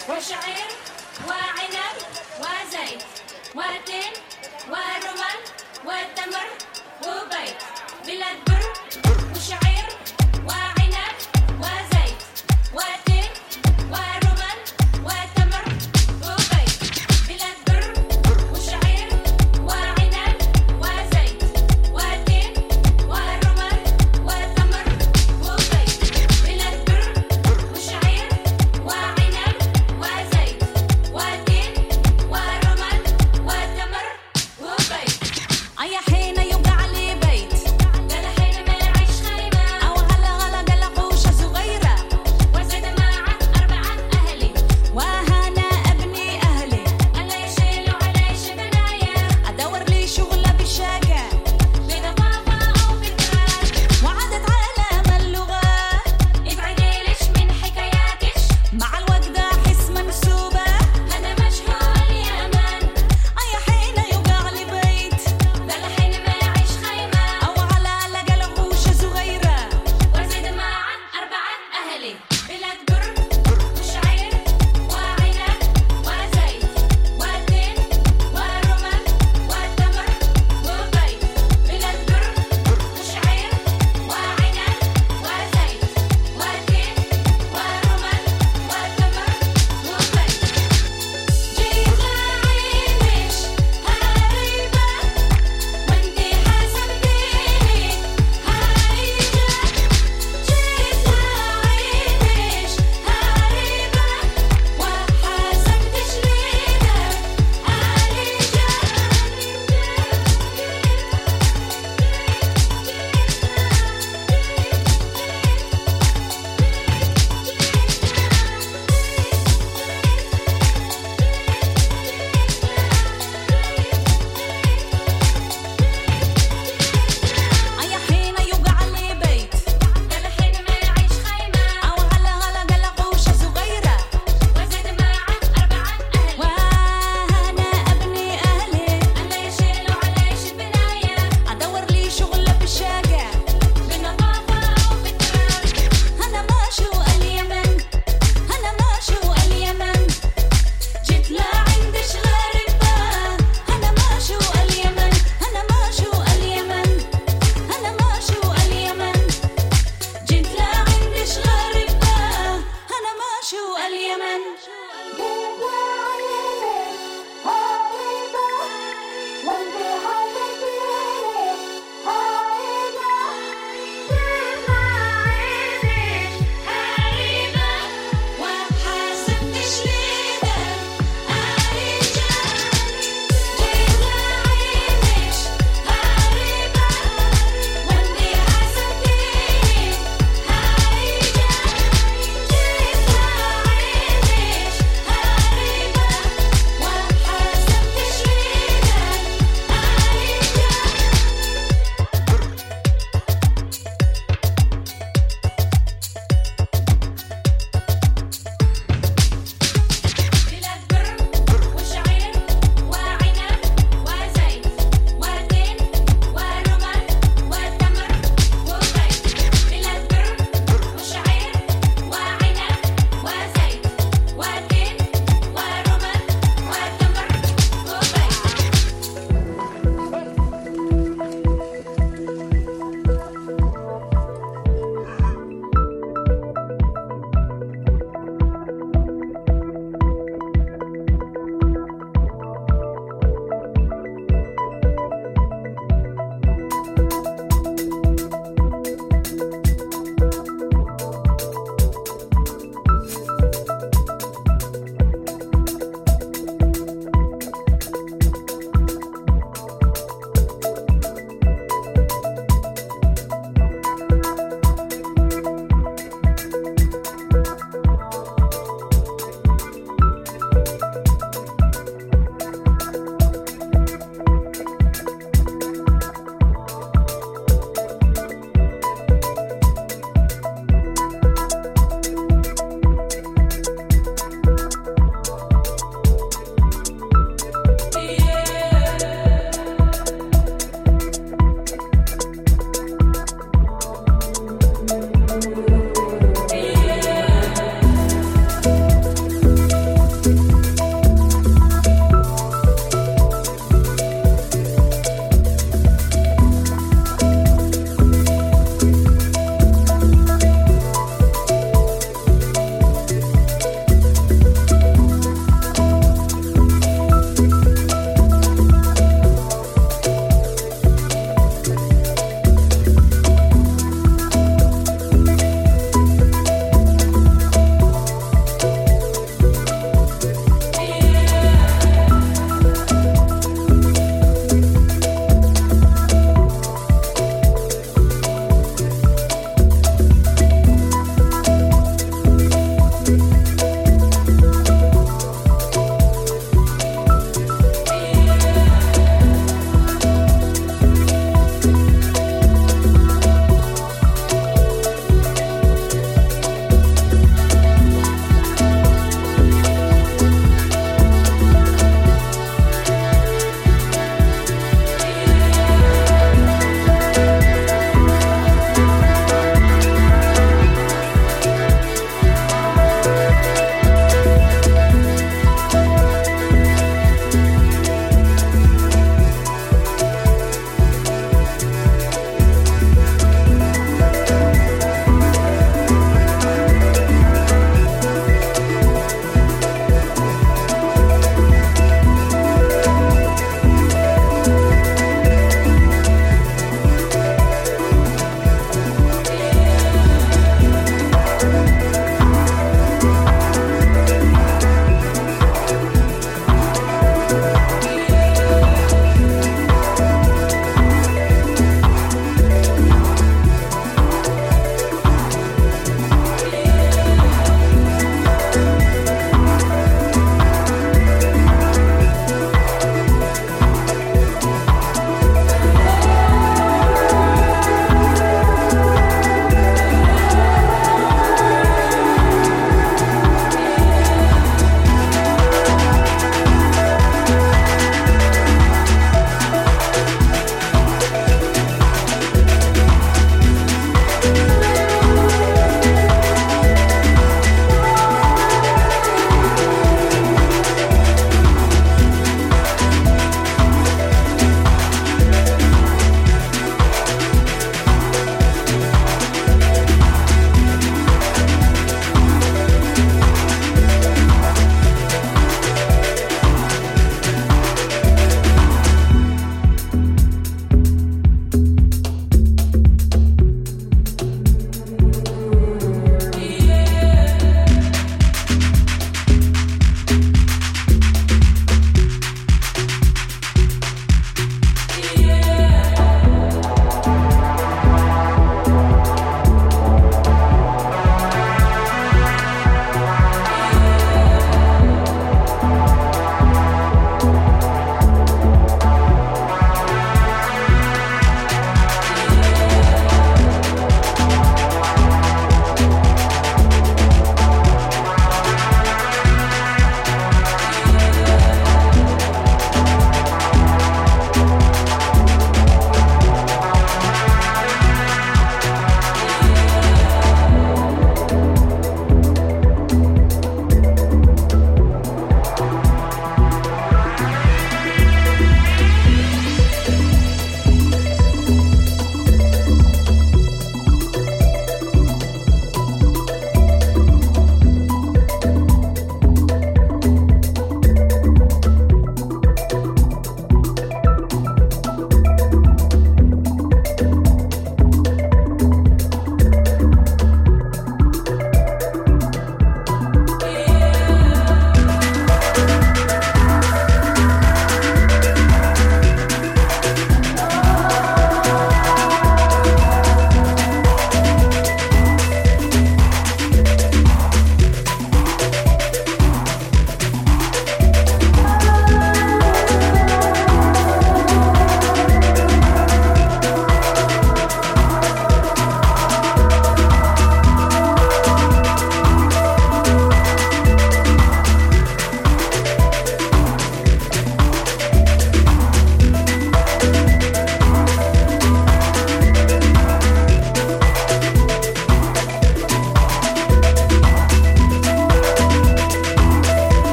وشعير وعنب وزيت وتين ورمان وتمر وبيت بلاد بر وشعير وعنب وزيت وتين ورمان وتمر وبيت بلاد بر وشعير وعنب وزيت وتين ورمان وتمر وبيت بلاد بر وشعير وعنب وزيت وتين ورمان وتمر وبيت أي حين يوقع لي بيت قال حين ما يعيش خيمة أو هلا هلا قال قوشة صغيرة وزيد معه 4 أهلي وهنا أبني أهلي أنا يشيلوا علي شبنايا أدور لي شغلة بالشاقة بضفافة أو بتراب وعدت عالم اللغات ابعدي ليش من حكاياتش مع الوقت أحس منسوبة أنا مشهور اليمن أي حين يوقع لي بيت قال حين ما يعيش خيمة أو على لقى لغوشة صغيرة وزيد معه 4 أهلي بلاد بر وشعير وعنب وزيت وتين ورمان وتمر وبيت بلاد بر وشعير وعنب وزيت وتين ورمان وتمر وبيت جيت لعينش هاربة وانتي حسبتيني هايجة جيت لعينش هاربة وحسبتش ليدك أي حين يوقع لي بيت قال حين ما يعيش خيمة أو هلا هلا قال قوشة صغيرة وزيد معه 4 أهلي وأنا أبني أهلي أنا يشيلوا علي شبنايا أدور لي شغلة بالشاقة بنظافة أو بتراب أنا ماشو اليمن أنا ماشو اليمن جيت لعندش غريبة أنا ماشو اليمن أنا ماشو اليمن أنا ماشو اليمن جيت لعندش غريبة أنا ماشو اليمن وحسبتش ليدك هايجة جيت لعينش هاربة وانتي حسبتيني هايجة جيت لعينش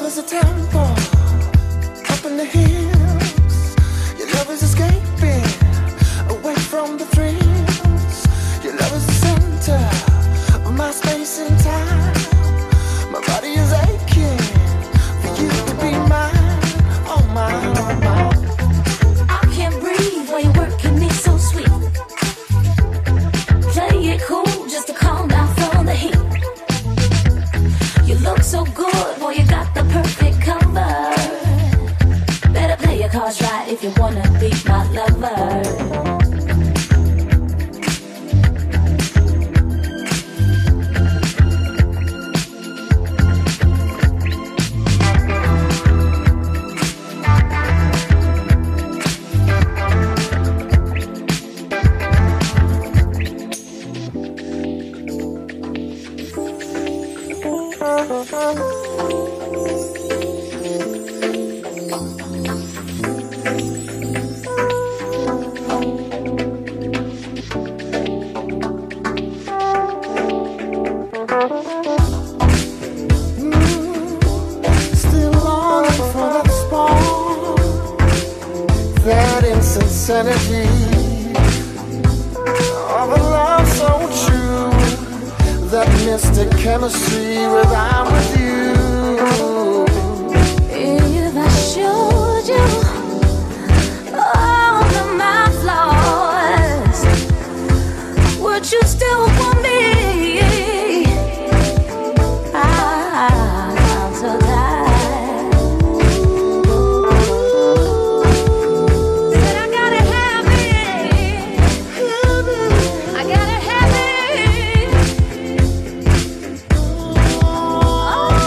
is a temple up in the hills. Your love is escaping away from the thrills. Your love is the center of my space and time. My body is aching for you to be mine. Oh mine, oh mine. I can't breathe while you're working me so sweet. Play it cool just to calm down from the heat. You look so good, boy, you got the perfect cover. Better play your cards right if you wanna be my lover. Energy of a love so true, that mystic chemistry when I'm with you. If I showed you all of my flaws, would you still want me? I'm so tired. Oh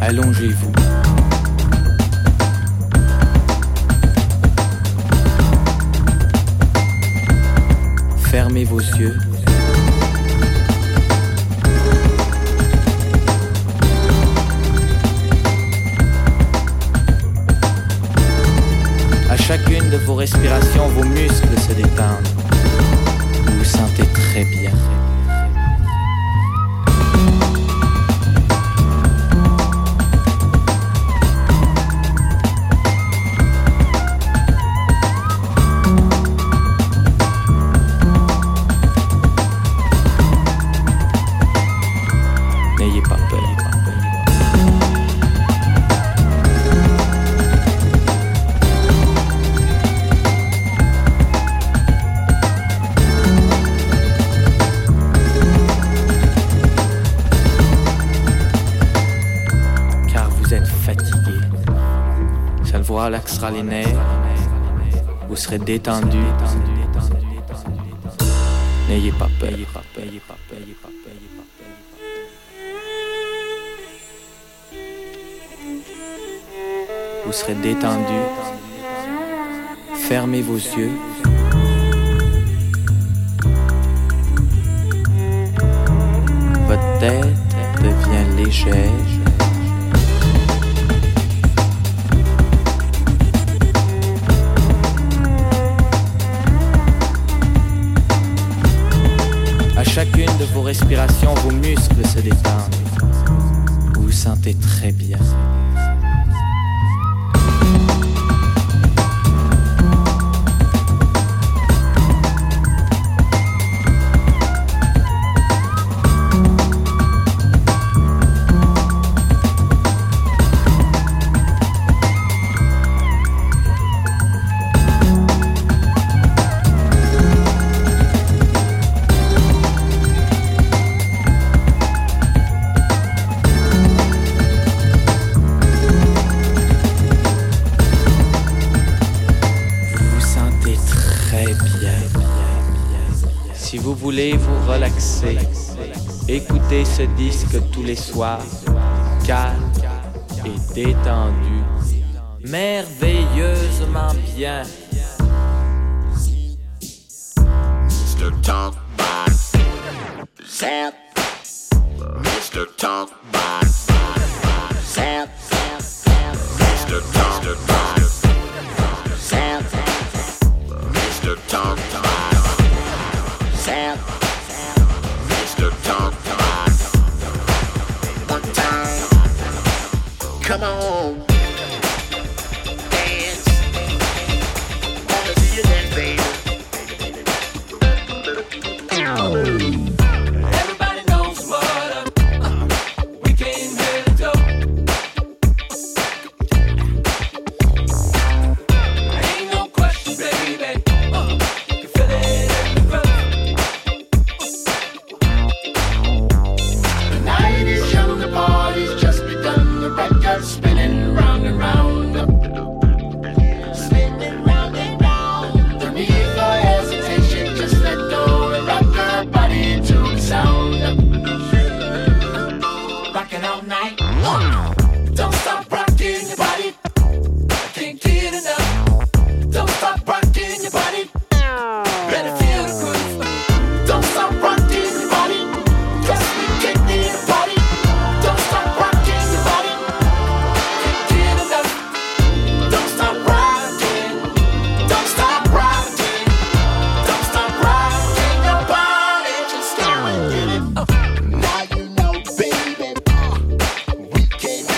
Allongez-vous. Fermez vos yeux. À chacune de vos respirations, vos muscles se détendent. Vous vous sentez très bien. Relaxera les nerfs, vous serez détendu. N'ayez pas peur. Vous serez détendu. Fermez vos yeux. Votre tête devient légère. Chacune de vos respirations, vos muscles se détendent. Vous vous sentez très bien. Si vous voulez vous relaxer, écoutez ce disque tous les soirs, calme et détendu, merveilleusement bien. Mr. Talk Bot, Zap, Mr. Talk Bot, Zap, Mr. Talk Bot, Zap, Mr. Talk Bot. Mr. Talk Bot. One time, come on, dance. Wanna see you dance, baby. Everybody knows what we came here to do. Ain't no question, baby. You feel it in the room. The night is young, the party's just begun. The record's spinning round and round, spinning round and round. No need for hesitation, just let go and rock your body to the sound. Rocking all night, Don't stop rocking your body. I can't get enough. Don't stop rocking your body. Better feel the groove. don't stop rocking your body. Yes, we can need a party. Don't stop rocking your body. Can't get enough. Don't stop rocking. Don't stop rocking. Don't stop rocking your body. Just go and get it. Now you know, baby. We came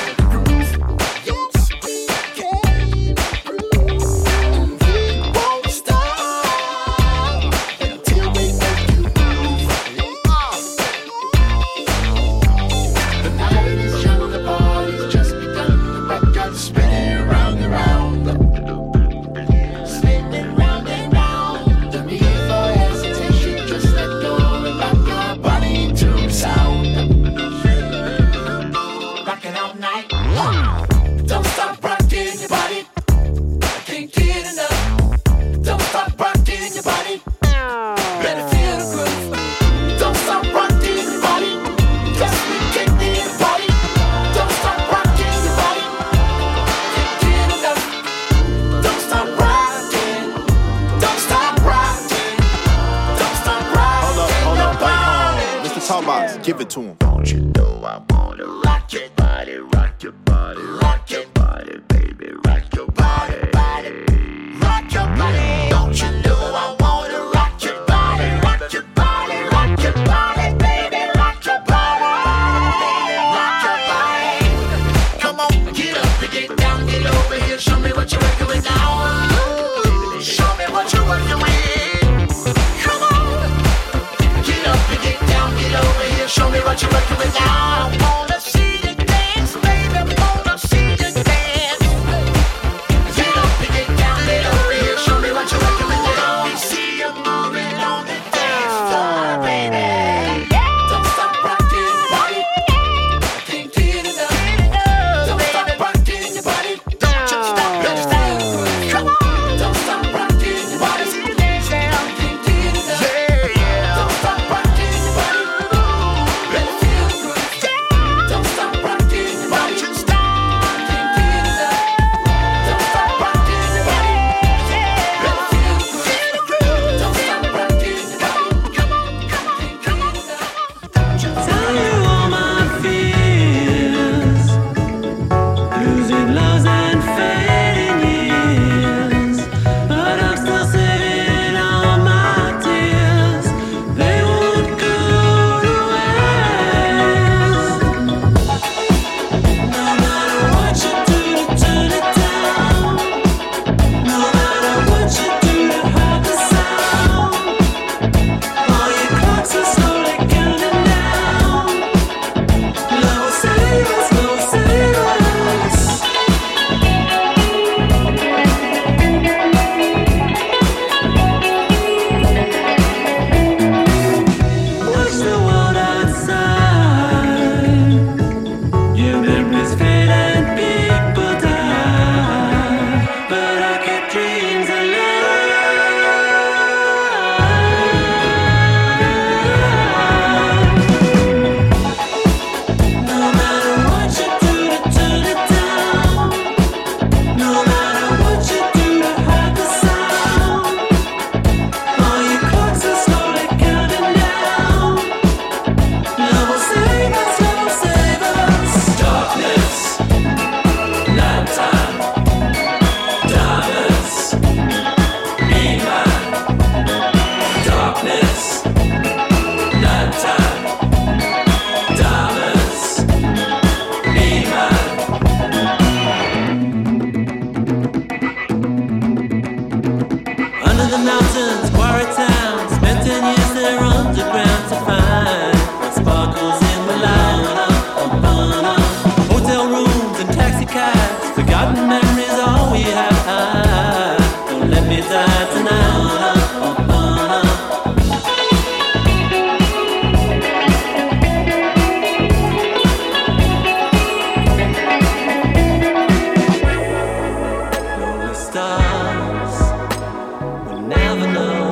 rock your body, rock your body, rock your body, baby, rock your body, rock your body. Don't you know I wanna rock your body, rock your body, rock your body, baby, rock your body, rock your body. Come on, get up and get down, get over here, show me what you're working with now. Show me what you're working with. Come on, get up and get down, get over here, show me what you're working with now. I wanna see you dance, baby, wanna see you dance. Get up and get down, get over here, show me what you're working with now. Let me see you moving on the dance floor, baby. Don't stop rocking your body, I can't get enough. Don't stop rocking your body, don't you stop, don't stop. Come on, don't stop rocking your body, I can't get enough. Don't stop rocking your body, let it feel good. Don't stop rocking your body, don't stop, I can't get enough. Don't stop rocking your body, let it feel good. Don't stop rocking your body, come on, come on, can't get enough. Tell you all my fears, losing loves and fading years, but I'm still saving all my tears. They won't go to waste. No matter what you do to turn it down, no matter what you do to hide the sound, all your clocks are slowly counting down. Love will save us, love will save us. Watch the world outside. Your memories fade and people die, but I keep dreams alive. No matter what you do to turn it down, no matter what you do to hide the sound, all your clocks are slowly counting down. Love will save us, love will save us. Darkness, nighttime, diamonds, be mine. Darkness, nighttime, diamonds, be mine. Under the mountains, quarry town, spent 10 years there underground to find what sparkles in the light. Hotel rooms and taxi cabs, forgotten memories, all we have. Don't let me die tonight. Lonely stars will never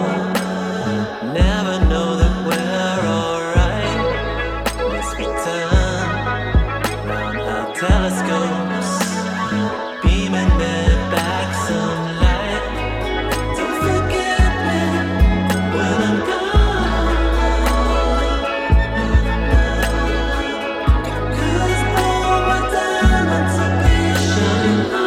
know that we're alright. Let's return round our telescopes, beaming me back some light. Don't forget me when I'm gone, 'cause all my diamonds will be shining on.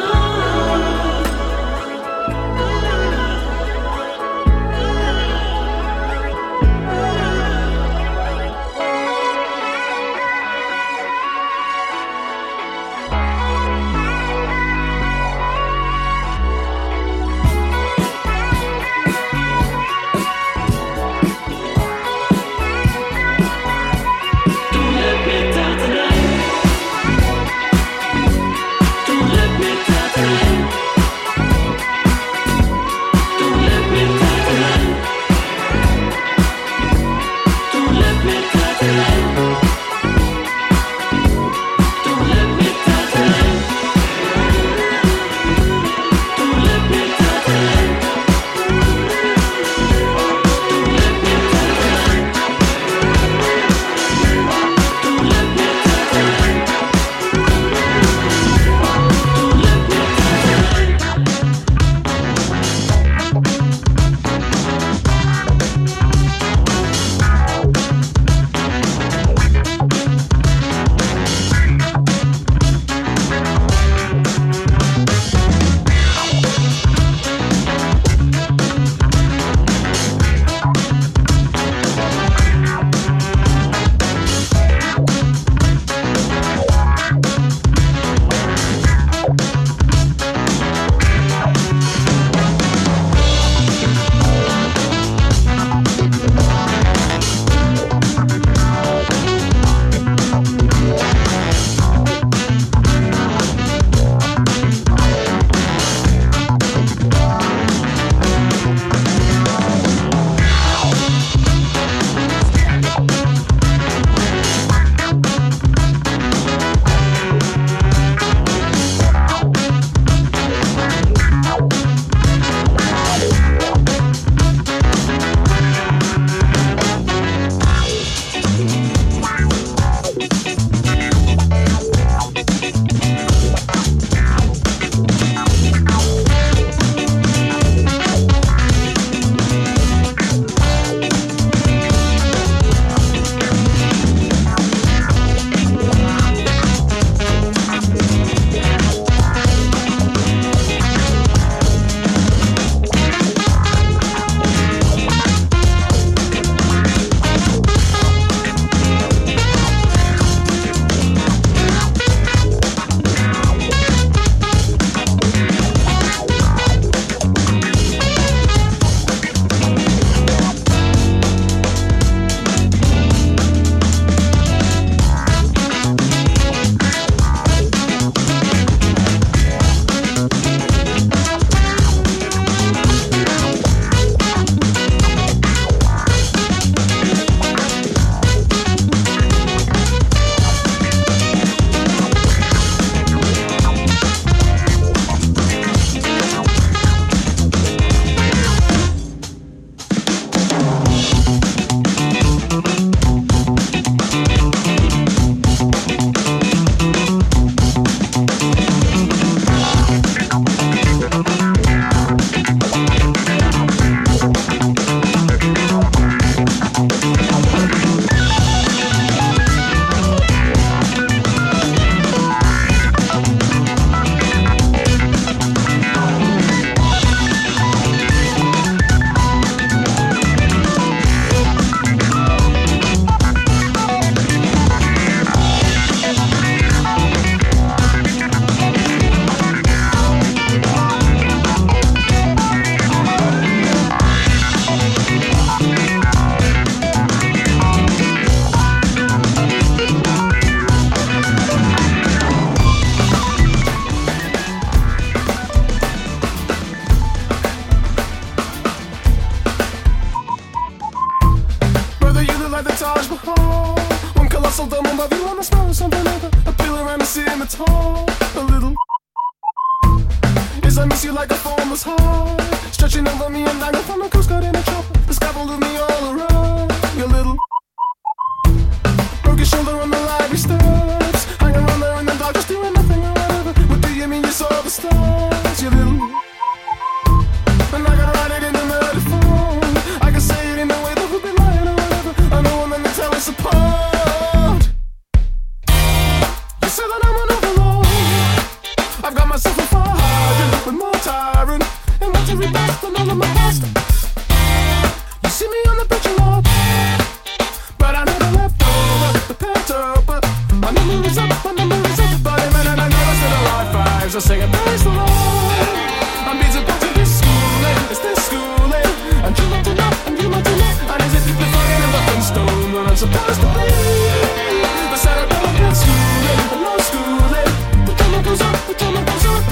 forever. I feel around the scimitar a little. Yes, I miss you like a formless heart, stretching over me and I go from a coast guard in a chopper. The sky will leave me all around. You little broke your shoulder on the library steps, hang around there in the dark, just doing nothing or whatever. What do you mean you saw the stars? You little. And I can write it in the murder phone. I can say it in a way that would be lying or whatever. I know I'm gonna tear us apart. You say that I'm an overlord. I've got myself a fire with more tyrant and want to rebuff than all of my past. You see me on the bridge a lot, but I never left over the panther. But my number is up, my number is up. But even and I never said a high fives. I sing and praise the Lord. I'm being supposed to be schooling, it's this schooling. And you want to know, and you want to know. And is it the fucking in the stone that I'm supposed to be? The set of been schooling, but no schooling. The drama goes on, the drama goes on.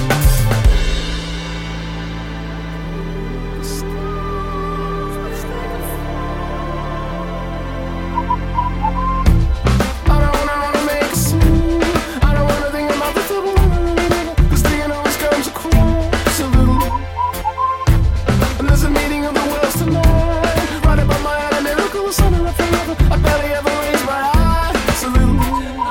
I don't wanna make a scene. I don't wanna think about the trouble. This thing always comes across a little. And there's a meeting of the worlds tonight, right above my head, a miracle is sunning up forever. I barely ever raise my eyes a little.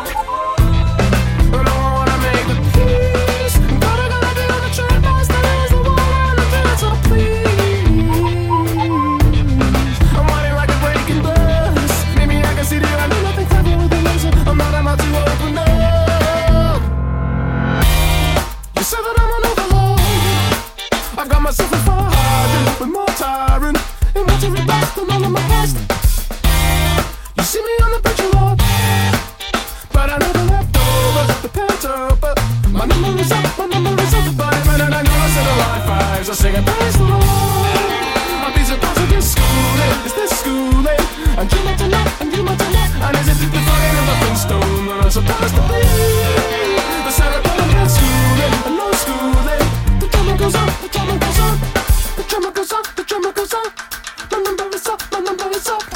I don't wanna make the peace. But I gotta be on the train, past the rails, the wall, and the dance, so please. I'm whining like a breaking bus. Maybe I can see the I do nothing clever with a laser. I'm not about to open up. You said that I'm an overlord. I've got myself a fire with more tyrant and want to rebuff than all of my past. You see me on the bridge a lot, but I never left over the panther. But my number is up, my number is up. But even and I know I said a high fives. I sing and praise the Lord. I'm being supposed to be schooling, it's this schooling. And you want to know, and you want to know. And is it the fucking in the stone that I'm supposed to be? The cerebellum is schooling, and no schooling. The drama goes on, the drama goes on. The drama goes on, the drama goes on. My number is up, my number is up.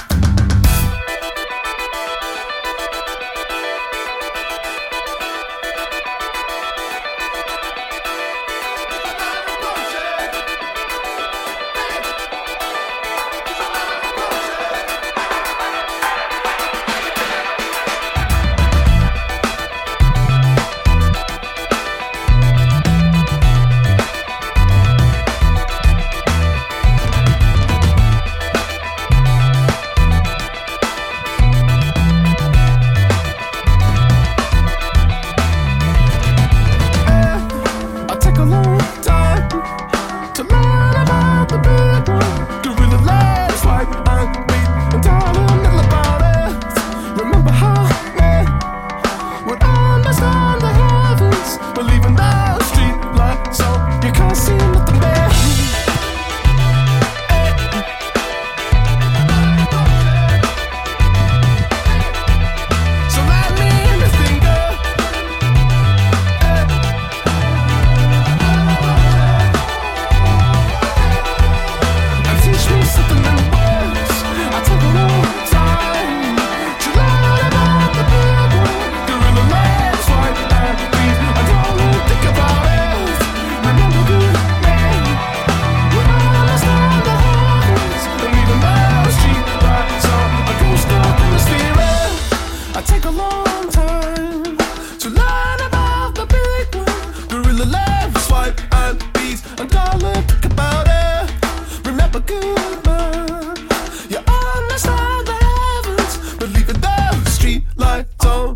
I take a long time to learn about the big one. Gorilla legs, white and beat, and tell a little about it. Remember how men would understand the heavens, believing the street light, so you can't see nothing there. So let me in the finger. And teach me something in words. I take a long time to learn about the big one. Gorilla legs, white and beat, and all I think about it. Remember good men would understand the heavens, and even the street lights on a ghost up in the spirit. I take a long time to learn about the big one. Gorilla legs, white and beat, and all I think about it. Remember good man, you understand the heavens, believe in the street lights on.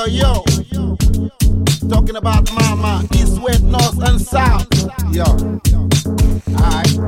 yo. Talking about mama, east, west, north, and south. Yo. Alright.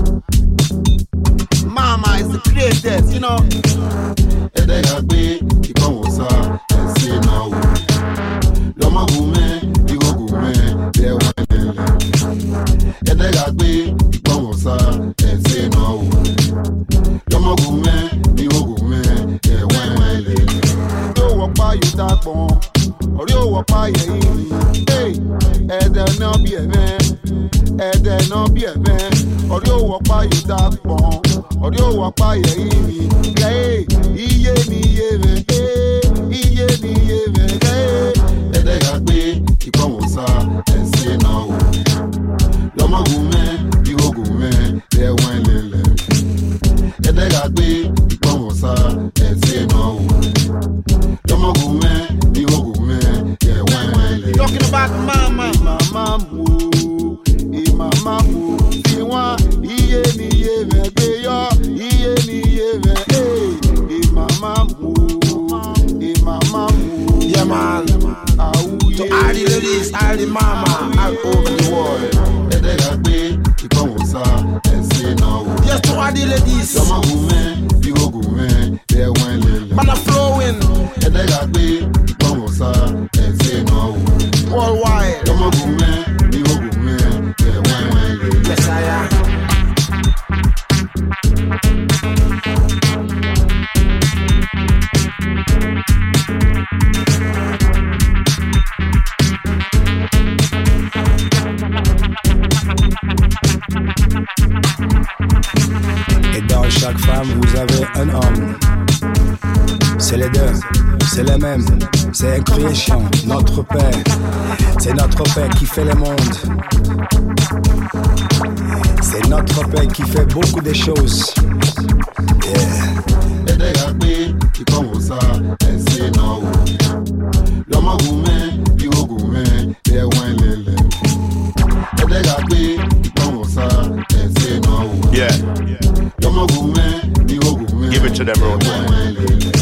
Mama is the greatest, you know. Edegagbe, ikonwosa, esi na wo. Loma gume, igo gume, dewenele. Edegagbe, ikonwosa, esi na wo. Loma gume, igo gume, dewenele. Yo wapa you that bon. Or yo wapa ye iri. Hey, ede no be a man. Ede no be a man. Or yo wapa you that bon. Or yo wapa ye iri. Hey, iye ni ye me. Hey, iye ni ye me. Hey, Edegagbe, ikonwosa, esi na wo. Loma gume, igo gume, dewenele. Edegagbe, ikonwosa, esi na wo. Loma gume, igo gume, dewenele. talking about mama. Mama mo, mama mo. Tiwa, iye ni ye me. Beyo, iye ni ye me. Hey, mama mo, mama mo. Yeah, man. To all the ladies, all the mama, all over the world. Edegagbe, ikonwosa, esi na wo. Yes, to all the ladies. Loma gume, igo gume, dewenele. Man, I'm flowing Edegagbe, ikonwosa, esi na wo. worldwide. Loma gume, igo gume, dewenele. Yes, I am. Et dans chaque femme, vous avez un homme. C'est les deux, c'est les mêmes. C'est un création, notre Père. C'est notre Père qui fait le monde. C'est notre Père qui fait beaucoup de choses. Yeah. Edegagbe, ikonwosa, esi na wo. Loma gume, igo gume, dewenele. Edegagbe, ikonwosa, esi na wo. Yeah, Loma gume, igo gume, give it to them, road boy. dewenele.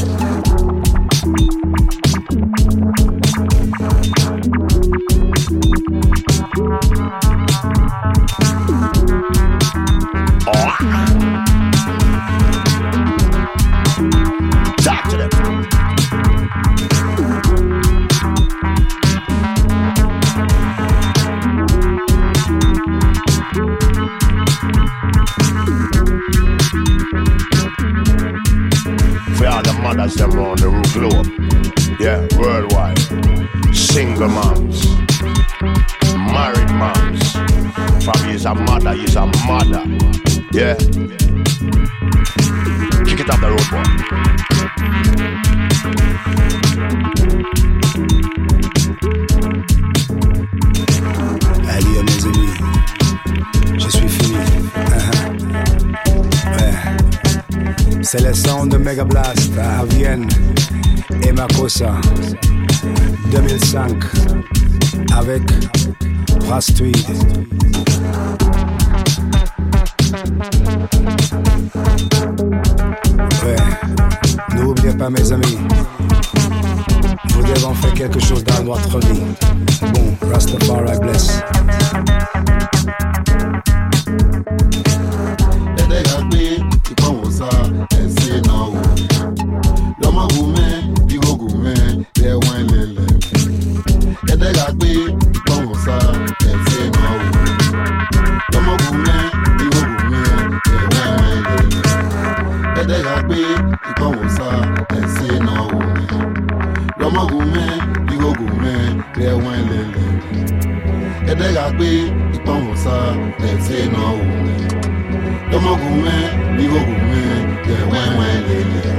Talk to them. For all the mothers them round the globe, yeah, worldwide. Single moms, married moms. From is a mother, is a mother. Yeah. Kick it up the road, boy. Allez, mes amis, je suis fini. Ouais. C'est le son de Mega Blast à Vienne et Makossa 2005 avec Prastuid. Ouais, n'oubliez pas mes amis, nous devons faire quelque chose dans notre vie. Bon, Rastafari bless. Edegagbe, ikonwosa, esi na wo. Loma gume, igo gume, dewenele. Edegagbe, ikonwosa, esi na wo. Loma gume, igo gume, dewenele. Edegagbe, ikonwosa, esi na wo. Loma gume, igo gume, dewenele. Edegagbe, ikonwosa, esi na wo. Loma gume, igo gume, dewenele.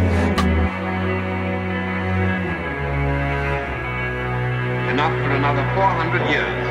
Enough for another 400 years.